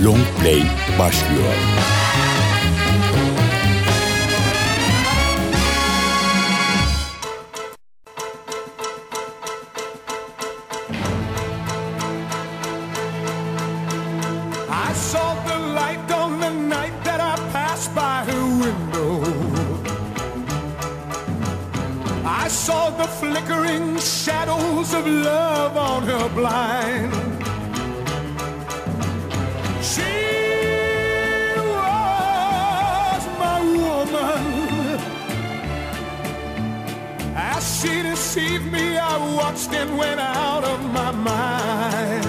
Long Play başlıyor. I saw the light on the night that I passed by her window. I saw the flickering shadows of love on her blind. She was my woman. As she deceived me, I watched and went out of my mind.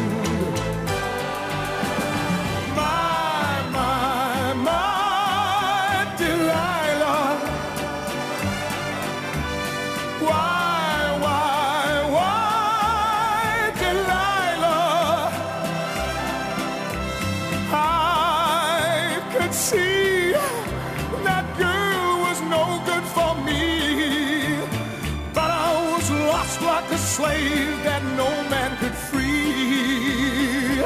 See, that girl was no good for me, but I was lost like a slave that no man could free.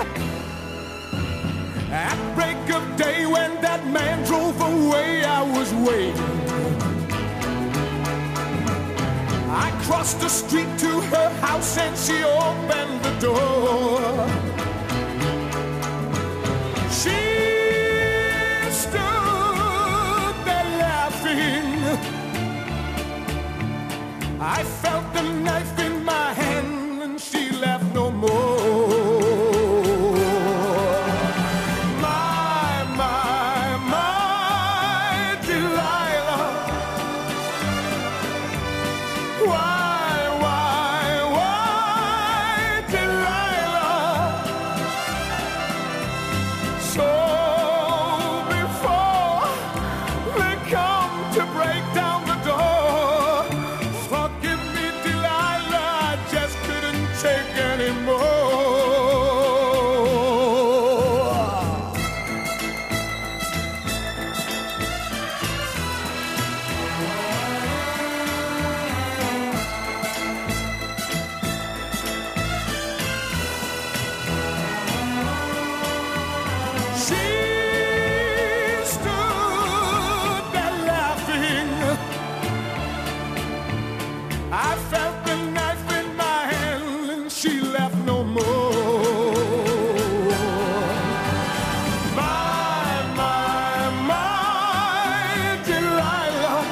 At break of day when that man drove away, I was waiting. I crossed the street to her house and she opened the door. She stood there laughing. I felt the knife in my hand and she laughed no more. My Delilah. Why, Delilah? So to break down the door, forgive me, Delilah, I just couldn't take anymore. She stood there laughing. I felt the knife in my hand and she left no more. My Delilah.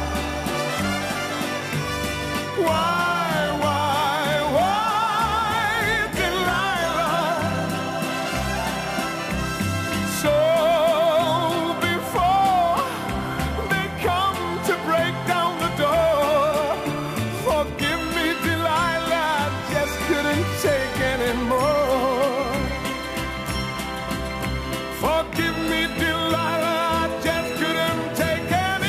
Why, Delilah? So before they come to break down the door, forgive me, Delilah, I just couldn't take anymore. Forgive me, Delilah, I just couldn't take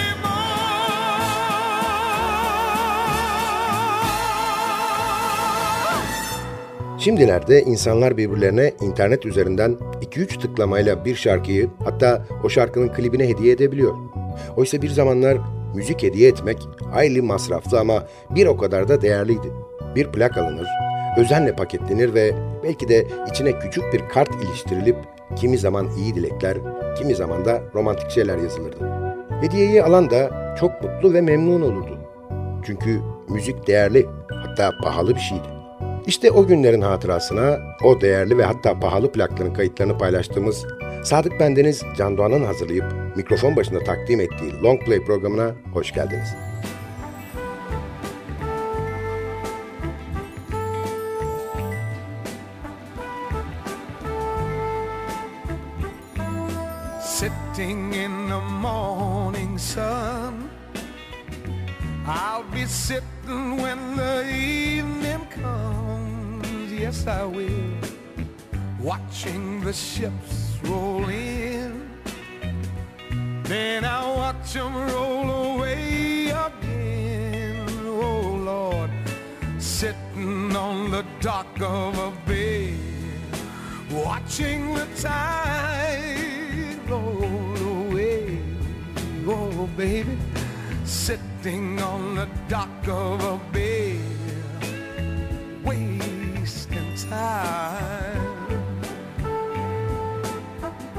anymore. Şimdilerde insanlar birbirlerine internet üzerinden 2-3 tıklamayla bir şarkıyı, hatta o şarkının klibine hediye edebiliyor. Oysa bir zamanlar müzik hediye etmek hayli masraflı ama bir o kadar da değerliydi. Bir plak alınır, özenle paketlenir ve belki de içine küçük bir kart iliştirilip kimi zaman iyi dilekler, kimi zaman da romantik şeyler yazılırdı. Hediyeyi alan da çok mutlu ve memnun olurdu. Çünkü müzik değerli, hatta pahalı bir şeydi. İşte o günlerin hatırasına o değerli ve hatta pahalı plakların kayıtlarını paylaştığımız Sadık Bendeniz Can Doğan'ın hazırlayıp mikrofon başında takdim ettiği Long Play programına hoş geldiniz. Sitting in the morning sun, I'll be sitting when the evening comes. Yes, I will. Watching the ships roll in, then I'll watch them roll away again. Oh, Lord, sitting on the dock of a bay, watching the tide roll away. Oh, baby, sitting on the dock of a bay, wasting time.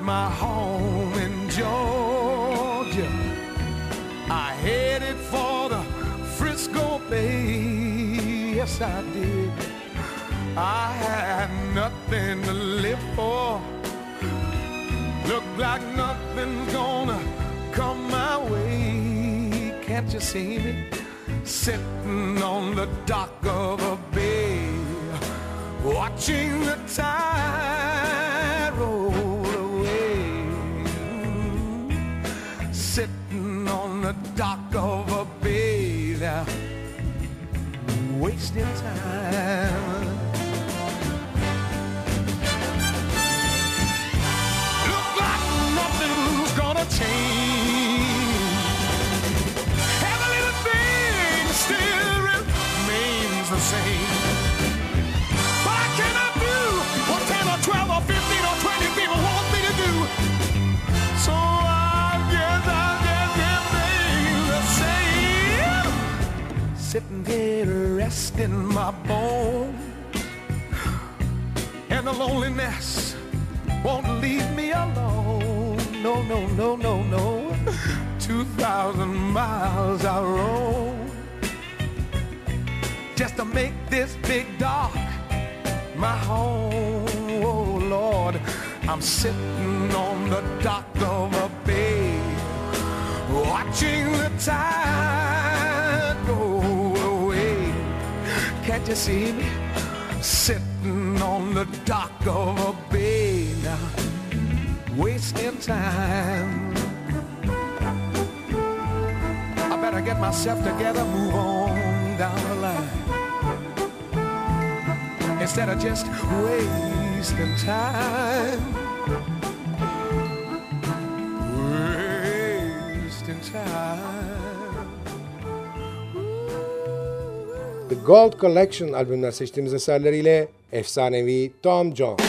my home in Georgia. I headed for the Frisco Bay. Yes, I did. I had nothing to live for. Looked like nothing's gonna come my way. Can't you see me sitting on the dock of a bay, watching the tide roll away? Sitting on the dock of a bay there, wasting time. Look like nothing's gonna change. Every little thing still remains the same. What can I do? What 10 or 12 or 15 or 20 people want me to do? So I guess everything the same. Sitting here resting my bones, and the loneliness won't leave me alone. No, no, no, no, no. 2,000 miles I roam just to make this big dock my home. Oh Lord, I'm sitting on the dock of a bay, watching the tide go away. Can't you see me sitting on the dock of a bay now, wasting time? I better get myself together, move on down the line, instead of just wasting time. Wasting time. The Gold Collection albümünden seçtiğimiz eserleriyle efsanevi Tom Jones.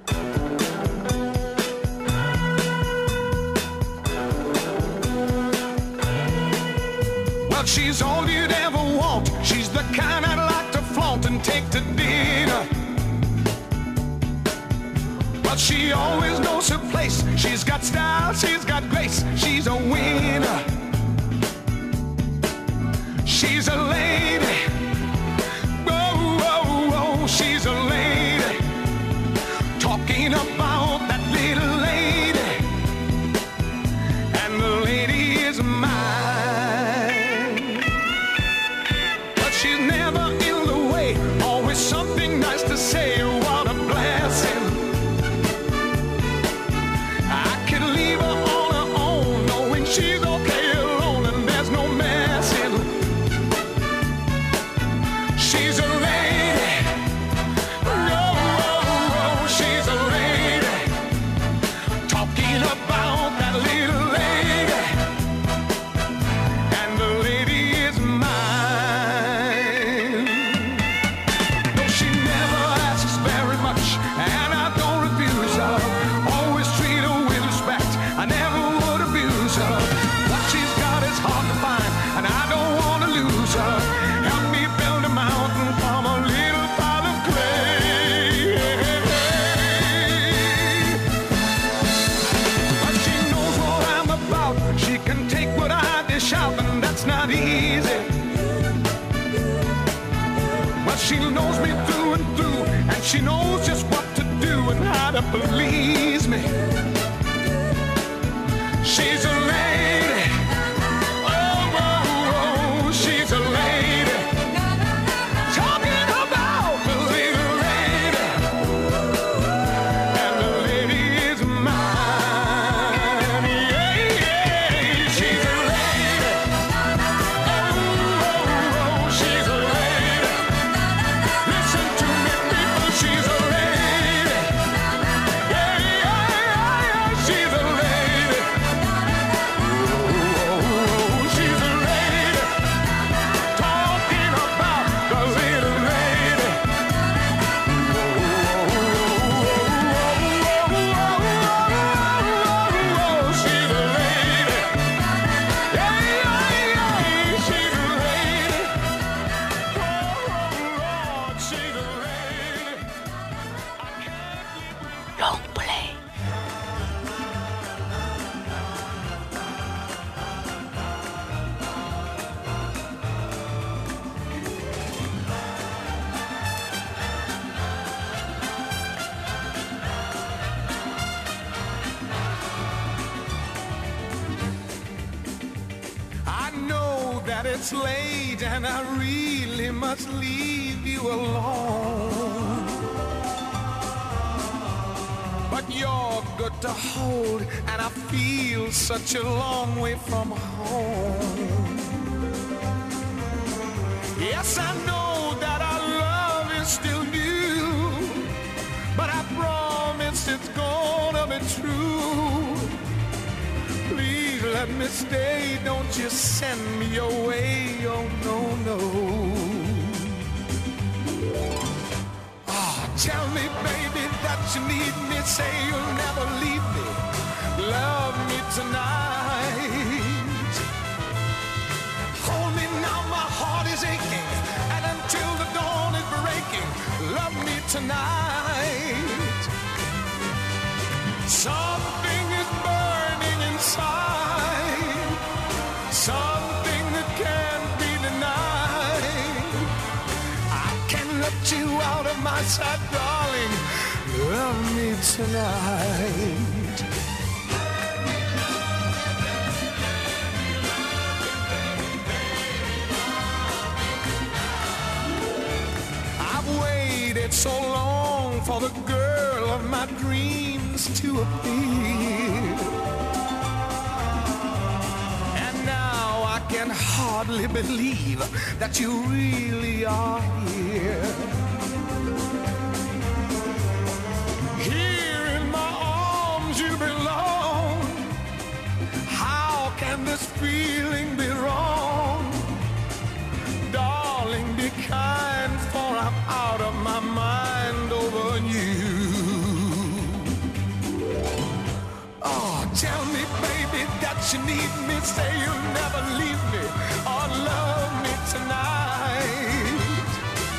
Well, she's all you'd ever want. She's the kind I'd like to flaunt and take to dinner. But she always knows her place. She's got style, she's got grace. She's a winner. She's a lady. Whoa, whoa, whoa, she's a lady. Talking about that little lady, and the lady is mine. But she's never in the way, always something nice to say. What a blessing. I can leave her on her own, knowing she's okay alone and there's no messing. She's a lady. Whoa, whoa, whoa, she's a lady. Talking about that little lady, and the lady is mine. Though she never asks very much, and I don't refuse her. Always treat her with respect, I never would abuse her. What she's got is hard to find, and I don't want to lose her. Help me build a mountain from a little pile of clay. But she knows what I'm about. She can take what I dish out, and that's not easy. But she knows me through and through, and she knows just what to do and how to please me. She's a lady. Oh, oh, oh, she's a lady. Talking about the little lady, and the lady is mine. Yeah, yeah, she's a lady. Oh, oh, oh, she's a lady. Listen to me, people, she's a lady. Yeah, yeah, yeah, yeah, she's a lady. it's late and I really must leave you alone. But you're good to hold, and I feel such a long way from home. Yes, I know that our love is still new, but I promise it's gonna be true. Please let me stay, don't you send me away, oh no, no. Oh, tell me, baby, that you need me, say you'll never leave me, love me tonight. Hold me now, my heart is aching, and until the dawn is breaking, love me tonight. Something is burning inside, something that can't be denied. I can't let you out of my sight, darling. Love me tonight. I've waited so long for the girl of my dreams to appear, and now I can hardly believe that you really are here. Here in my arms you belong. How can this feeling be wrong? Darling, be kind, for I'm out of my mind over you. Oh, tell me, baby, that you need me, say you'll never leave me or love me tonight.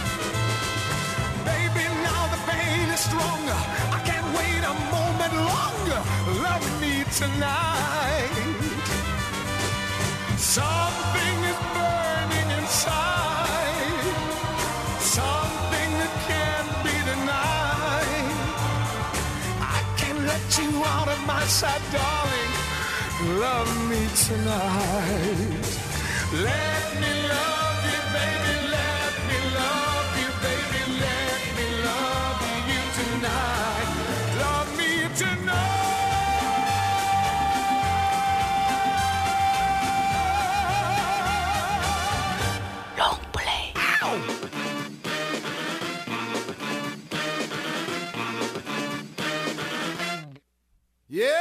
Baby, now the pain is stronger, I can't wait a moment longer. Love me tonight. Something is burning inside, something that can't be denied. I can't let you out of my sight, darling. Love me tonight. Let me love you, baby. Let me love you, baby. Let me love you tonight. Love me tonight. Long play. Yeah!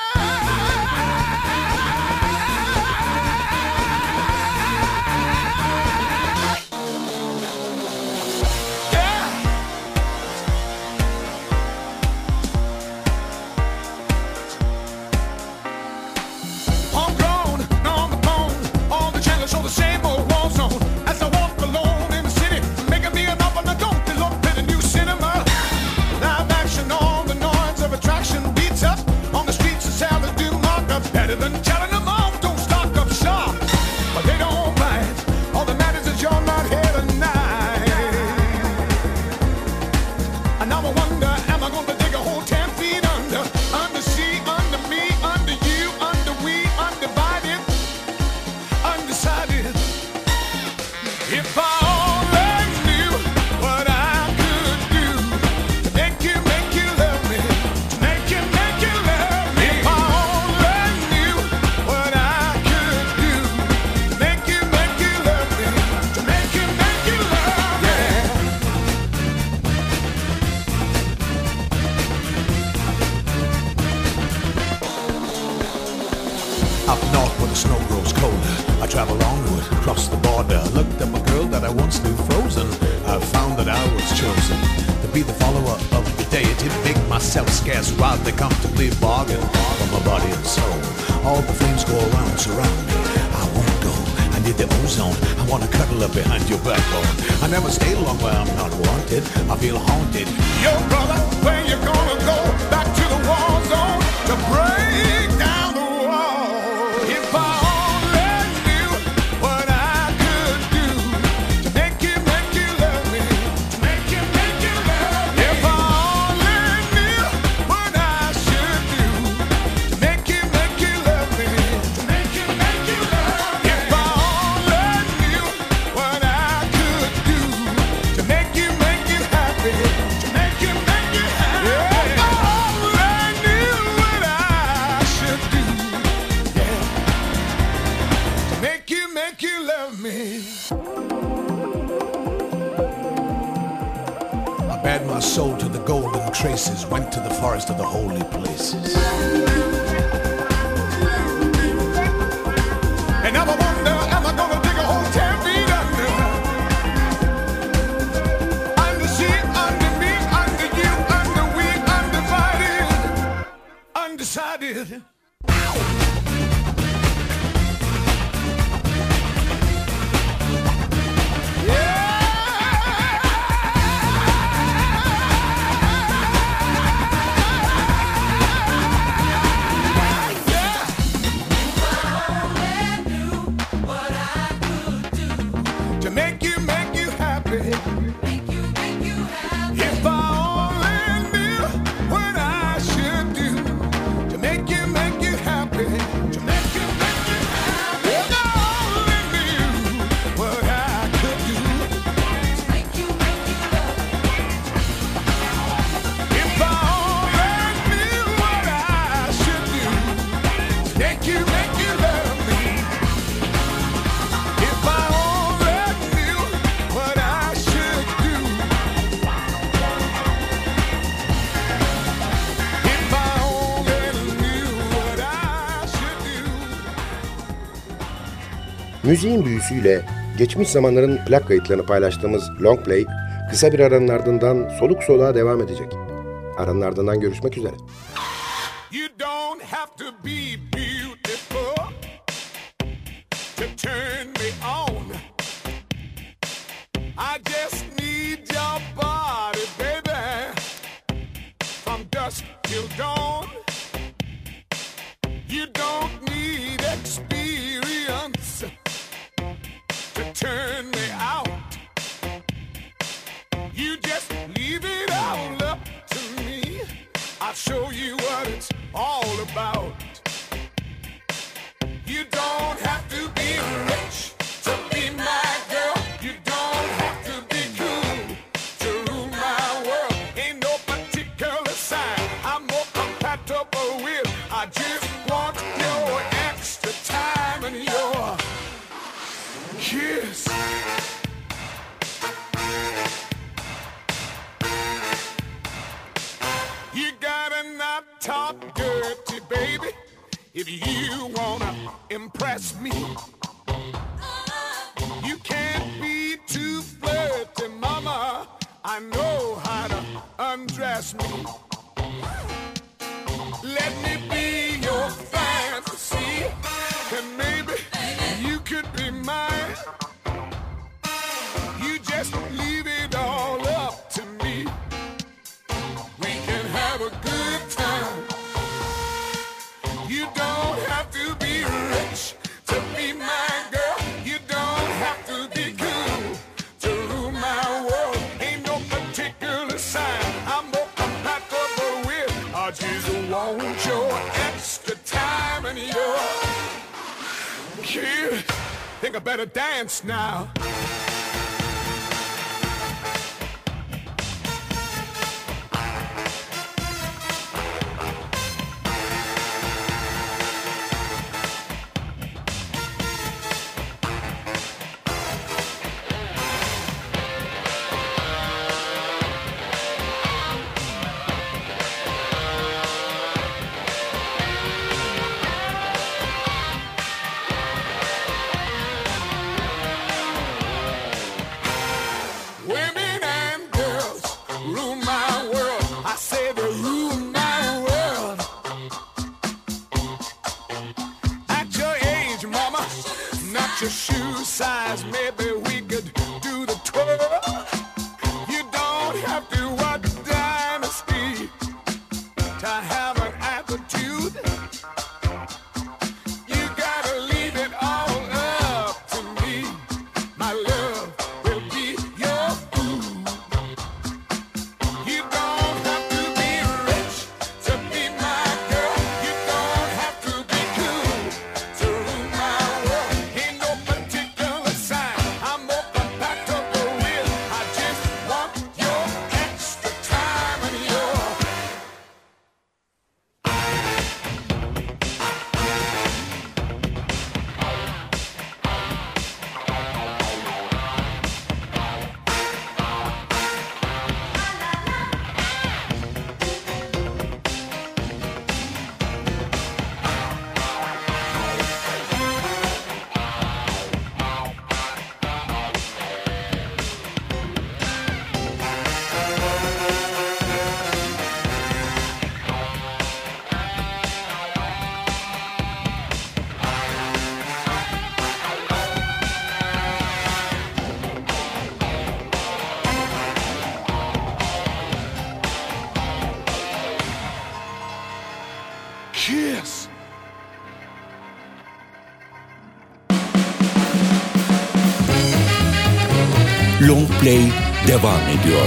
Up north where the snow grows colder, I travel onward, across the border. Looked at my girl that I once knew frozen. I found that I was chosen to be the follower of the deity. Make myself scarce while they comfortably bargain for my body and soul. All the flames go around, surround me. I won't go, I need the ozone. I wanna cuddle up behind your backbone. I never stay long where I'm not wanted. I feel haunted. Yo, brother, where you gonna go? Back to the war zone to break down the wall. If I only knew what I could do to make you love me, to make you love me. If I only knew what I should do to make you love me, to make you love me. If I only bared my soul to the golden traces, went to the forest of the holy places. And now I wonder, am I gonna dig a hole 10 feet under? Under she, under me, under you, under we, undivided, undecided. Müziğin büyüsüyle geçmiş zamanların plak kayıtlarını paylaştığımız Long Play, kısa bir aranın ardından soluk soluğa devam edecek. Aranın ardından görüşmek üzere. You don't have to be beautiful to turn me on. I just need your body, baby, from dusk till dawn. You don't need experience to turn me out. You just leave it all up to me. I'll show you what it's all about. You don't have to be rich to be my girl. You don't have to be cool to rule my world. Ain't no particular sign I'm more compatible with. I just want your extra time and your kiss. You gotta not talk dirty, baby, if you wanna impress me. You can't be too flirty, mama. I know how to undress me. Let me be your fantasy, and maybe you could be mine. You just leave it all up to me. We can have a good time. You don't have to be rich to be my girl. You don't have to be cool to rule my world. Ain't no particular sign I'm more compatible with. I just want your extra time and your kiss. Think I better dance now. Play devam ediyor.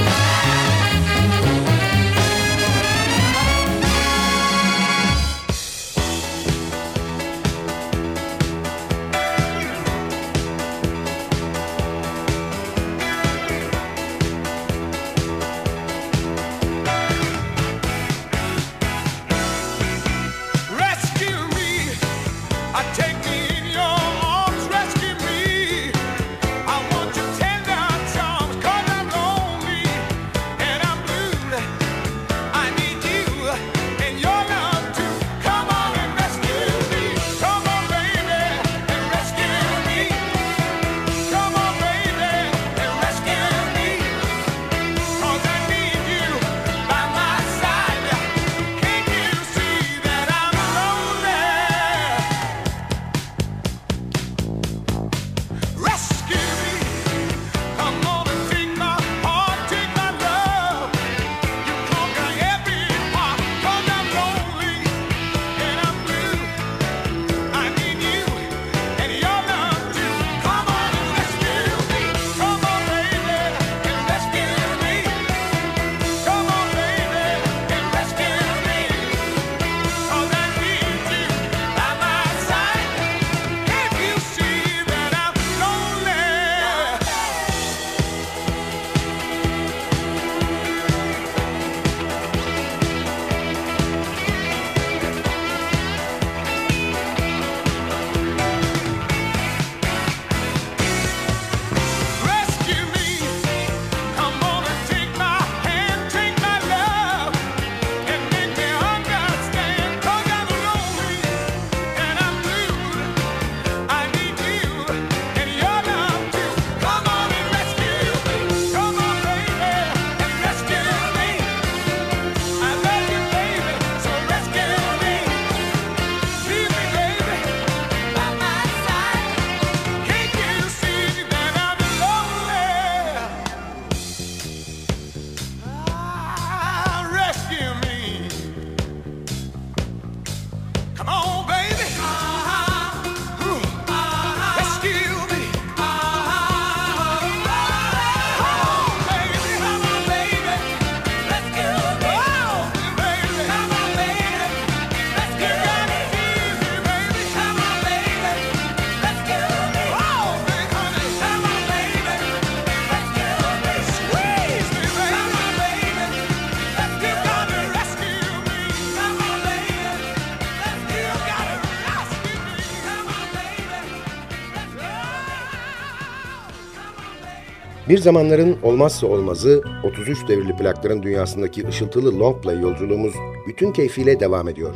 Bir zamanların olmazsa olmazı 33 devirli plakların dünyasındaki ışıltılı long play yolculuğumuz bütün keyfiyle devam ediyor.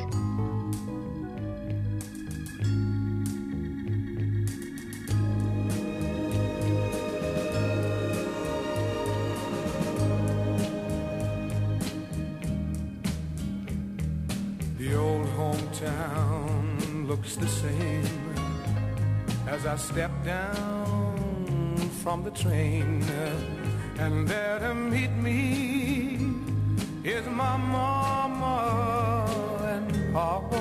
The old hometown looks the same as I step down from the train, and there to meet me is my mama and papa.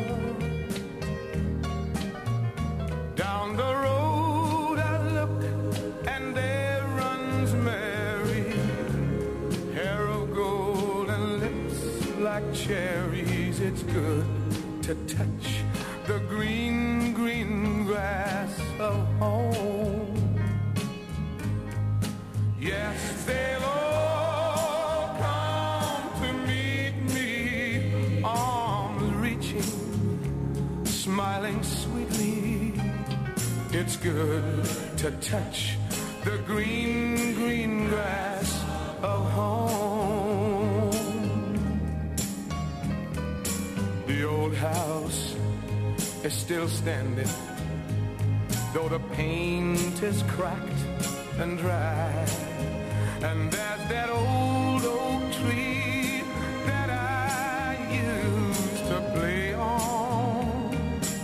Down the road I look, and there runs Mary, hair of gold and lips like cherries. It's good to touch the green, green grass of home. Yes, they'll all come to meet me, arms reaching, smiling sweetly. It's good to touch the green, green grass of home. The old house is still standing, though the paint is cracked and dry. And there's that old oak tree that I used to play on.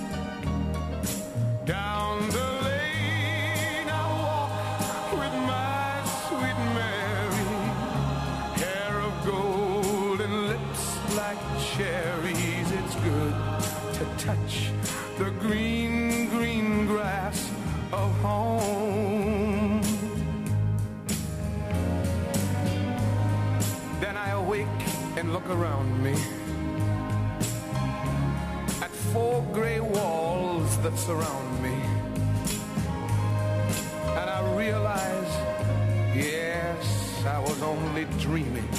Down the lane I walk with my sweet Mary, hair of gold and lips like cherries. It's good to touch the green, green grass of home. wake and look around me at four gray walls that surround me, and I realize, yes, I was only dreaming.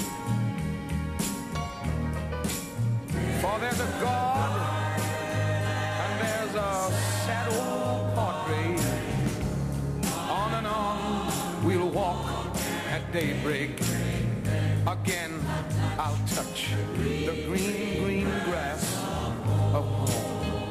For there's a God and there's a sad old portrait. On and on we'll walk at daybreak. Again I'll touch the green, green grass of home.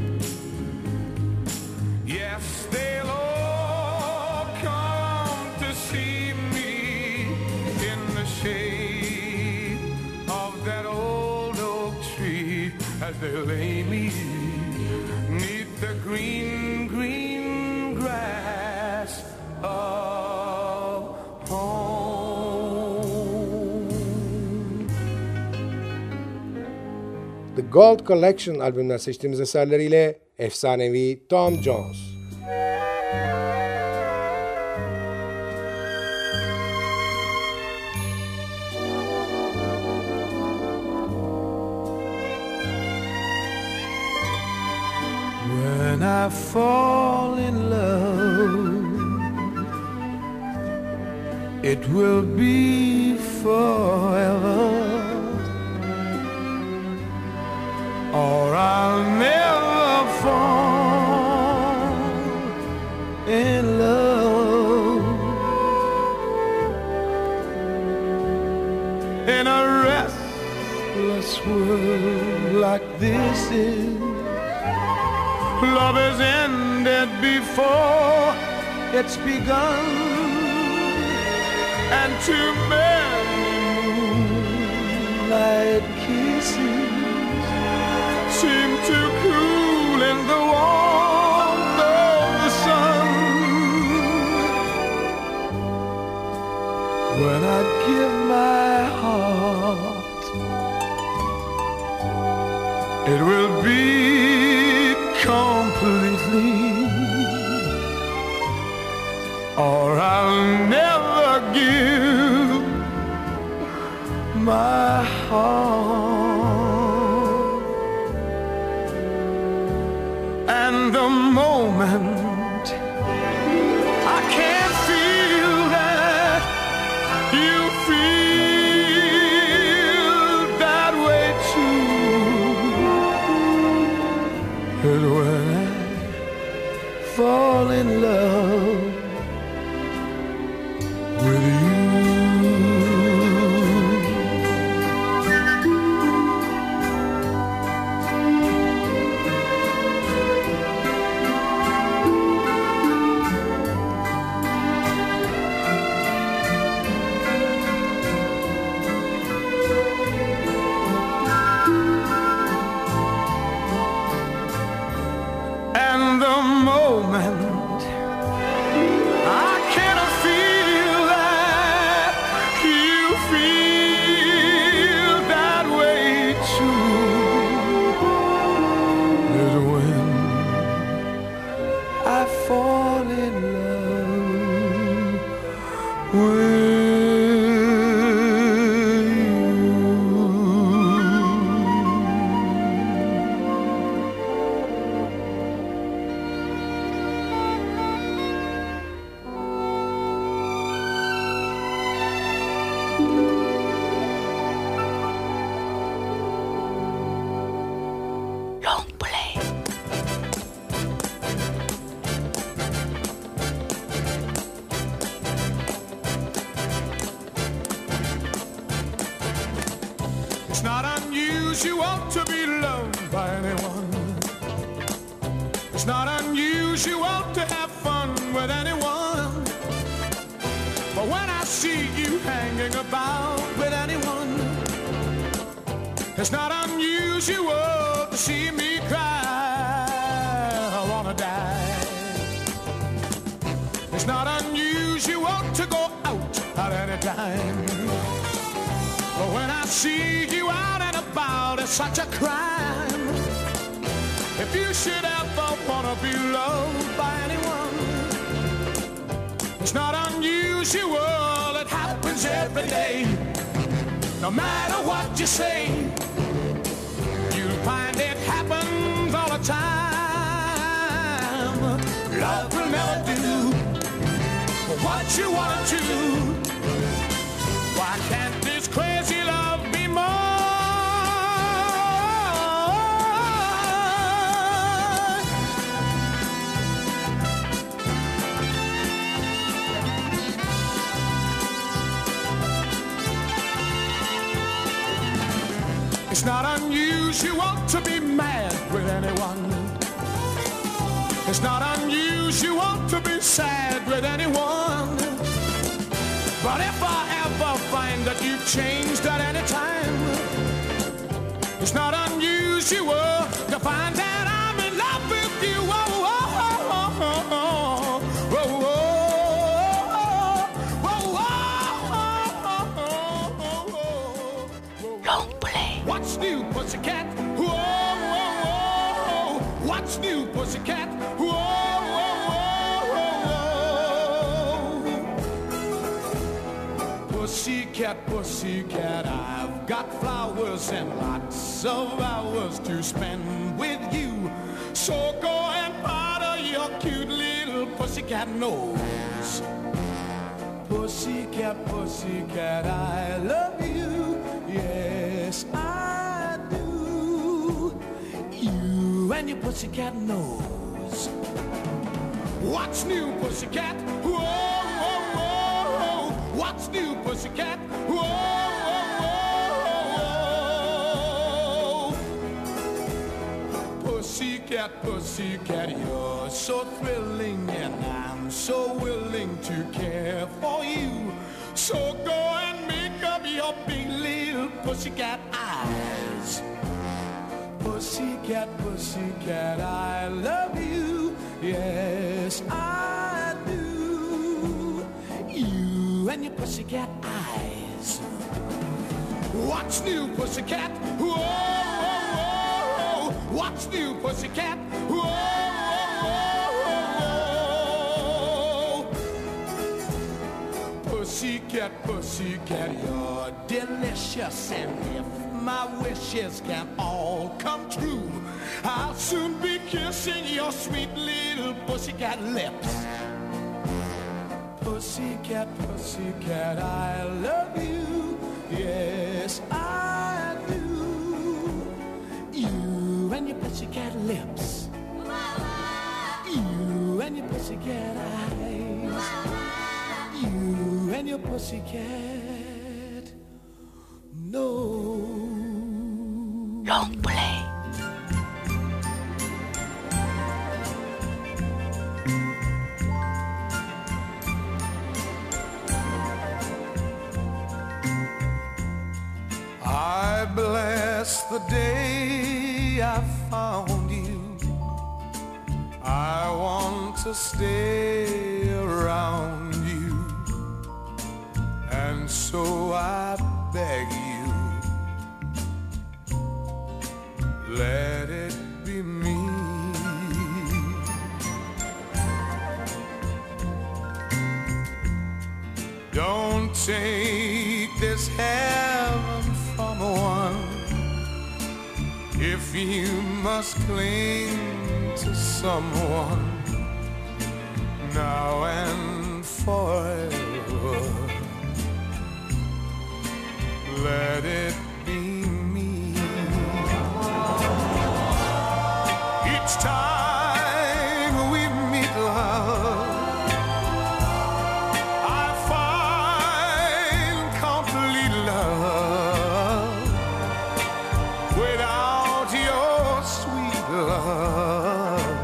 Yes, they'll all come to see me in the shade of that old oak tree as they lay me 'neath the green, green grass of home. The Gold Collection albümünden seçtiğimiz eserleriyle efsanevi Tom Jones. When I fall in love, it will be forever, or I'll never fall in love. In a restless world like this is, love has ended before it's begun, and too many moonlight kisses seem to cool in the warmth of the sun. When I give my heart, it will be completely, or I'll never give my heart. And the moment I can't feel that you feel that way too, and when I fall in love with you. And the moment I cannot feel that you feel that way too, is when I fall in love with you. Long play. It's not unusual to be loved by anyone. It's not unusual to have fun with anyone. But when I see you hanging about with anyone, it's not unusual to see me cry. I wanna die. It's not unusual to go out at any time. But when I see you out and about, it's such a crime. If you should ever wanna be loved by anyone, it's not unusual, it happens every day. no matter what you say, you'll find it happens all the time. Love will never do what you want to. Why can't this crazy love be mine? It's not unusual to be mad with anyone. It's not unusual to be sad with anyone. But if I ever find that you've changed at any time, it's not unusual to find that I'm in love with you. Oh, oh, oh, oh, oh, oh, oh, Long play. What's new, pussycat? Whoa, whoa, whoa. What's new, pussycat? Whoa, whoa, whoa, whoa. Pussycat, pussycat, I've got flowers and lots of hours to spend with you. So go and powder your cute little pussycat nose. Pussycat, pussycat, I love you. Yes, I do. You and your pussycat nose. What's new, pussycat? Whoa, whoa, whoa. What's new, pussycat? Whoa, whoa, whoa. Pussycat, pussycat, you're so thrilling, and I'm so willing to care for you. So go and make up your big little pussycat eyes. Pussycat, pussycat, I love you. Yes, I do. You and your pussycat eyes. What's new, pussycat? Whoa, whoa, whoa. What's new, pussycat? Whoa, whoa, whoa. Pussycat, pussycat, you're delicious, and if my wishes can all come true, I'll soon be kissing your sweet little pussycat lips. Pussycat, pussycat, I love you. Yes, I do. You and your pussycat lips. You and your pussycat eyes. You and your pussycat nose. Long play. I bless the day I found you. I want to stay around you, and so I beg you, let it be me. Don't take this heaven from one if you must cling to someone now and forever. Let it be me. Each time we meet, love, I find complete love. Without your sweet love,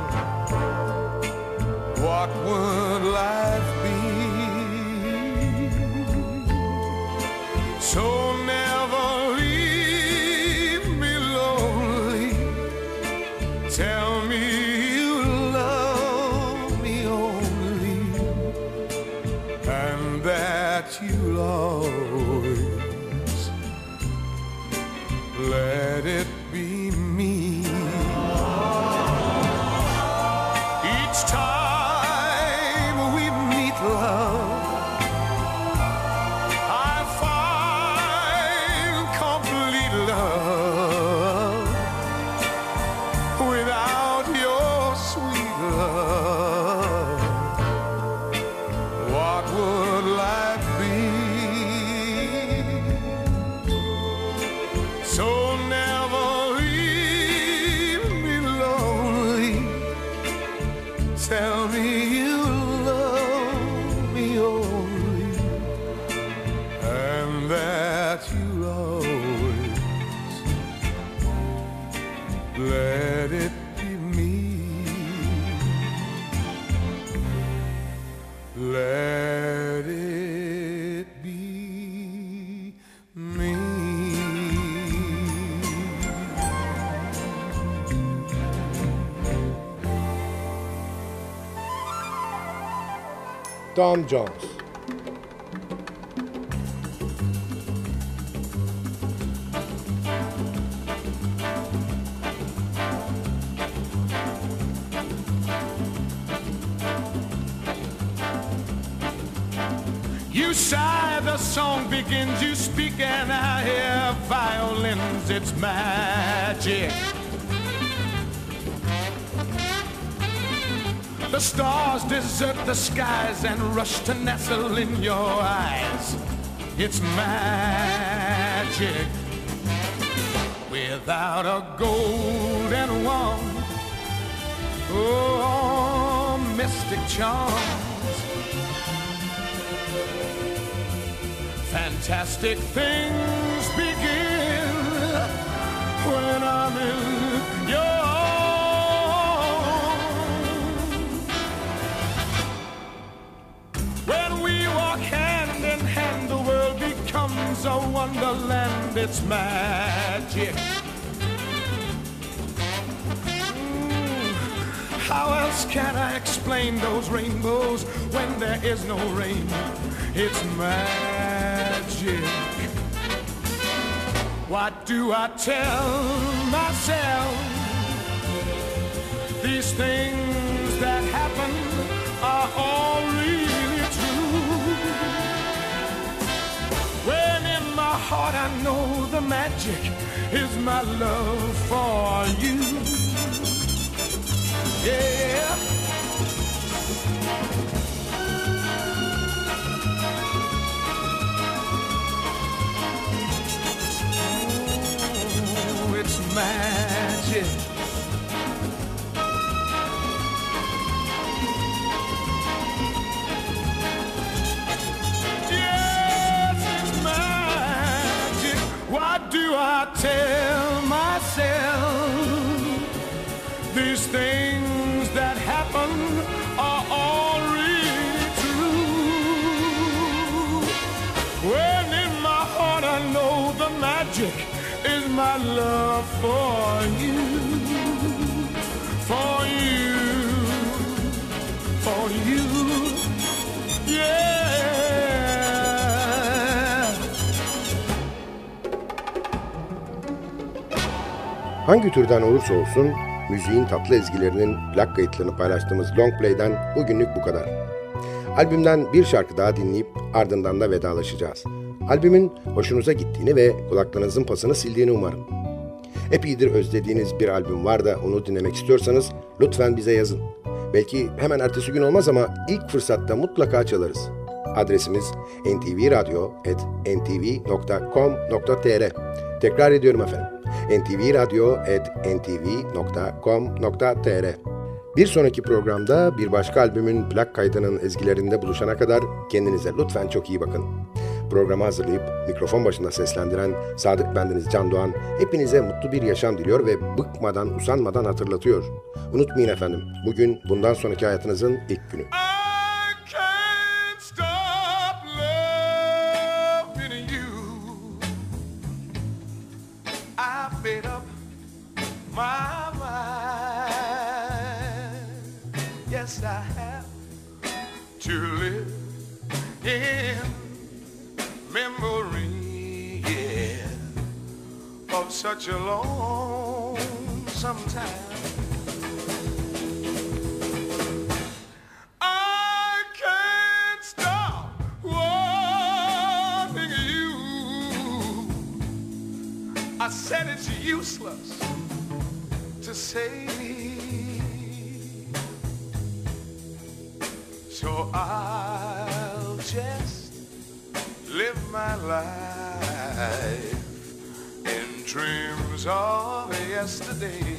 what would life be? So never leave me lonely. Tell me you love me only, and that you'll always let it be me. Each time we meet, love, I find that you always let it be me. Let it be me. Tom Jones. You sigh, the song begins, you speak, and I hear violins, it's magic. The stars desert the skies and rush to nestle in your eyes. It's magic. Without a golden wand, oh, mystic charms. Fantastic things begin when I'm in your arms. When we walk hand in hand, the world becomes a wonderland. It's magic. How else can I explain those rainbows when there is no rain? It's magic. What do I tell myself? These things that happen are all really true. When in my heart I know the magic is my love for you. Yeah. Oh, it's magic. Yes, it's magic. What do I tell myself? These things that happen are all really true. When in my heart I know the magic is my love for you. For you. For you. Yeah. Hangi türden olursa olsun müziğin tatlı ezgilerinin plak kayıtlarını paylaştığımız Long Play'den bugünlük bu kadar. Albümden bir şarkı daha dinleyip ardından da vedalaşacağız. Albümün hoşunuza gittiğini ve kulaklarınızın pasını sildiğini umarım. Epeydir özlediğiniz bir albüm var da onu dinlemek istiyorsanız lütfen bize yazın. Belki hemen ertesi gün olmaz ama ilk fırsatta mutlaka çalarız. Adresimiz ntvradio@ntv.com.tr. Tekrar ediyorum efendim. ntvradio@ntv.com.tr. Bir sonraki programda bir başka albümün plak kaydının ezgilerinde buluşana kadar kendinize lütfen çok iyi bakın. Programı hazırlayıp mikrofon başında seslendiren Sadık bendeniz Can Doğan hepinize mutlu bir yaşam diliyor ve bıkmadan, usanmadan hatırlatıyor. Unutmayın efendim, bugün bundan sonraki hayatınızın ilk günü. I can't stop loving you. I've made up my mind. Yes, I have to live in memory, yeah, of such a lonesome time. I can't stop wanting you. I said it's useless to say, so I'll just live my life in dreams of yesterday.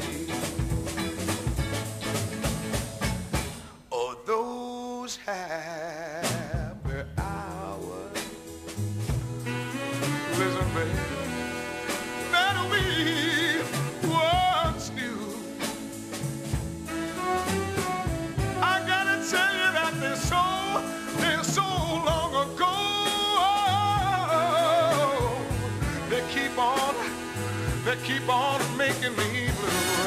Oh, those happy hours. Listen, baby. way that we once knew. I gotta tell you that they're so long ago. They keep on making me blue.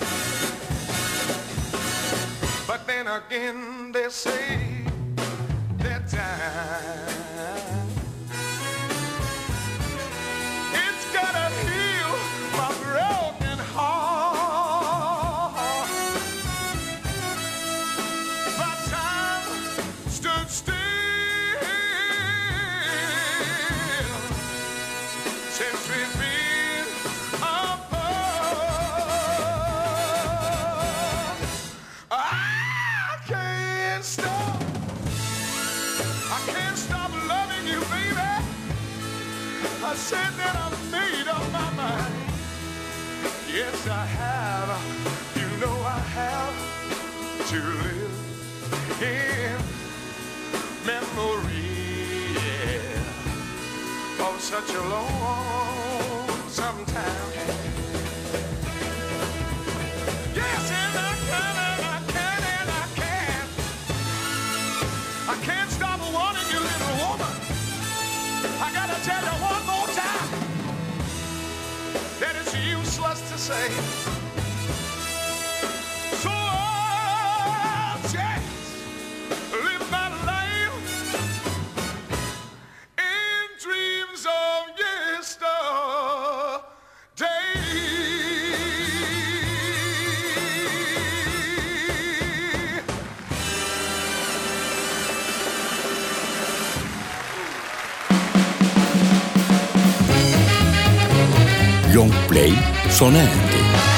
But then again they say that time it's gotta heal my broken heart. But time stood still since we've been apart. I can't stop loving you, baby. I said that I made up my mind. Yes, I have. You know I have to live in memory, yeah, of such a long time. Yes, and I can't stop wanting you, little woman. I gotta tell you one more time that it's useless to say. So I'll just live my life in dreams of yesterday. Long Play sona erdi.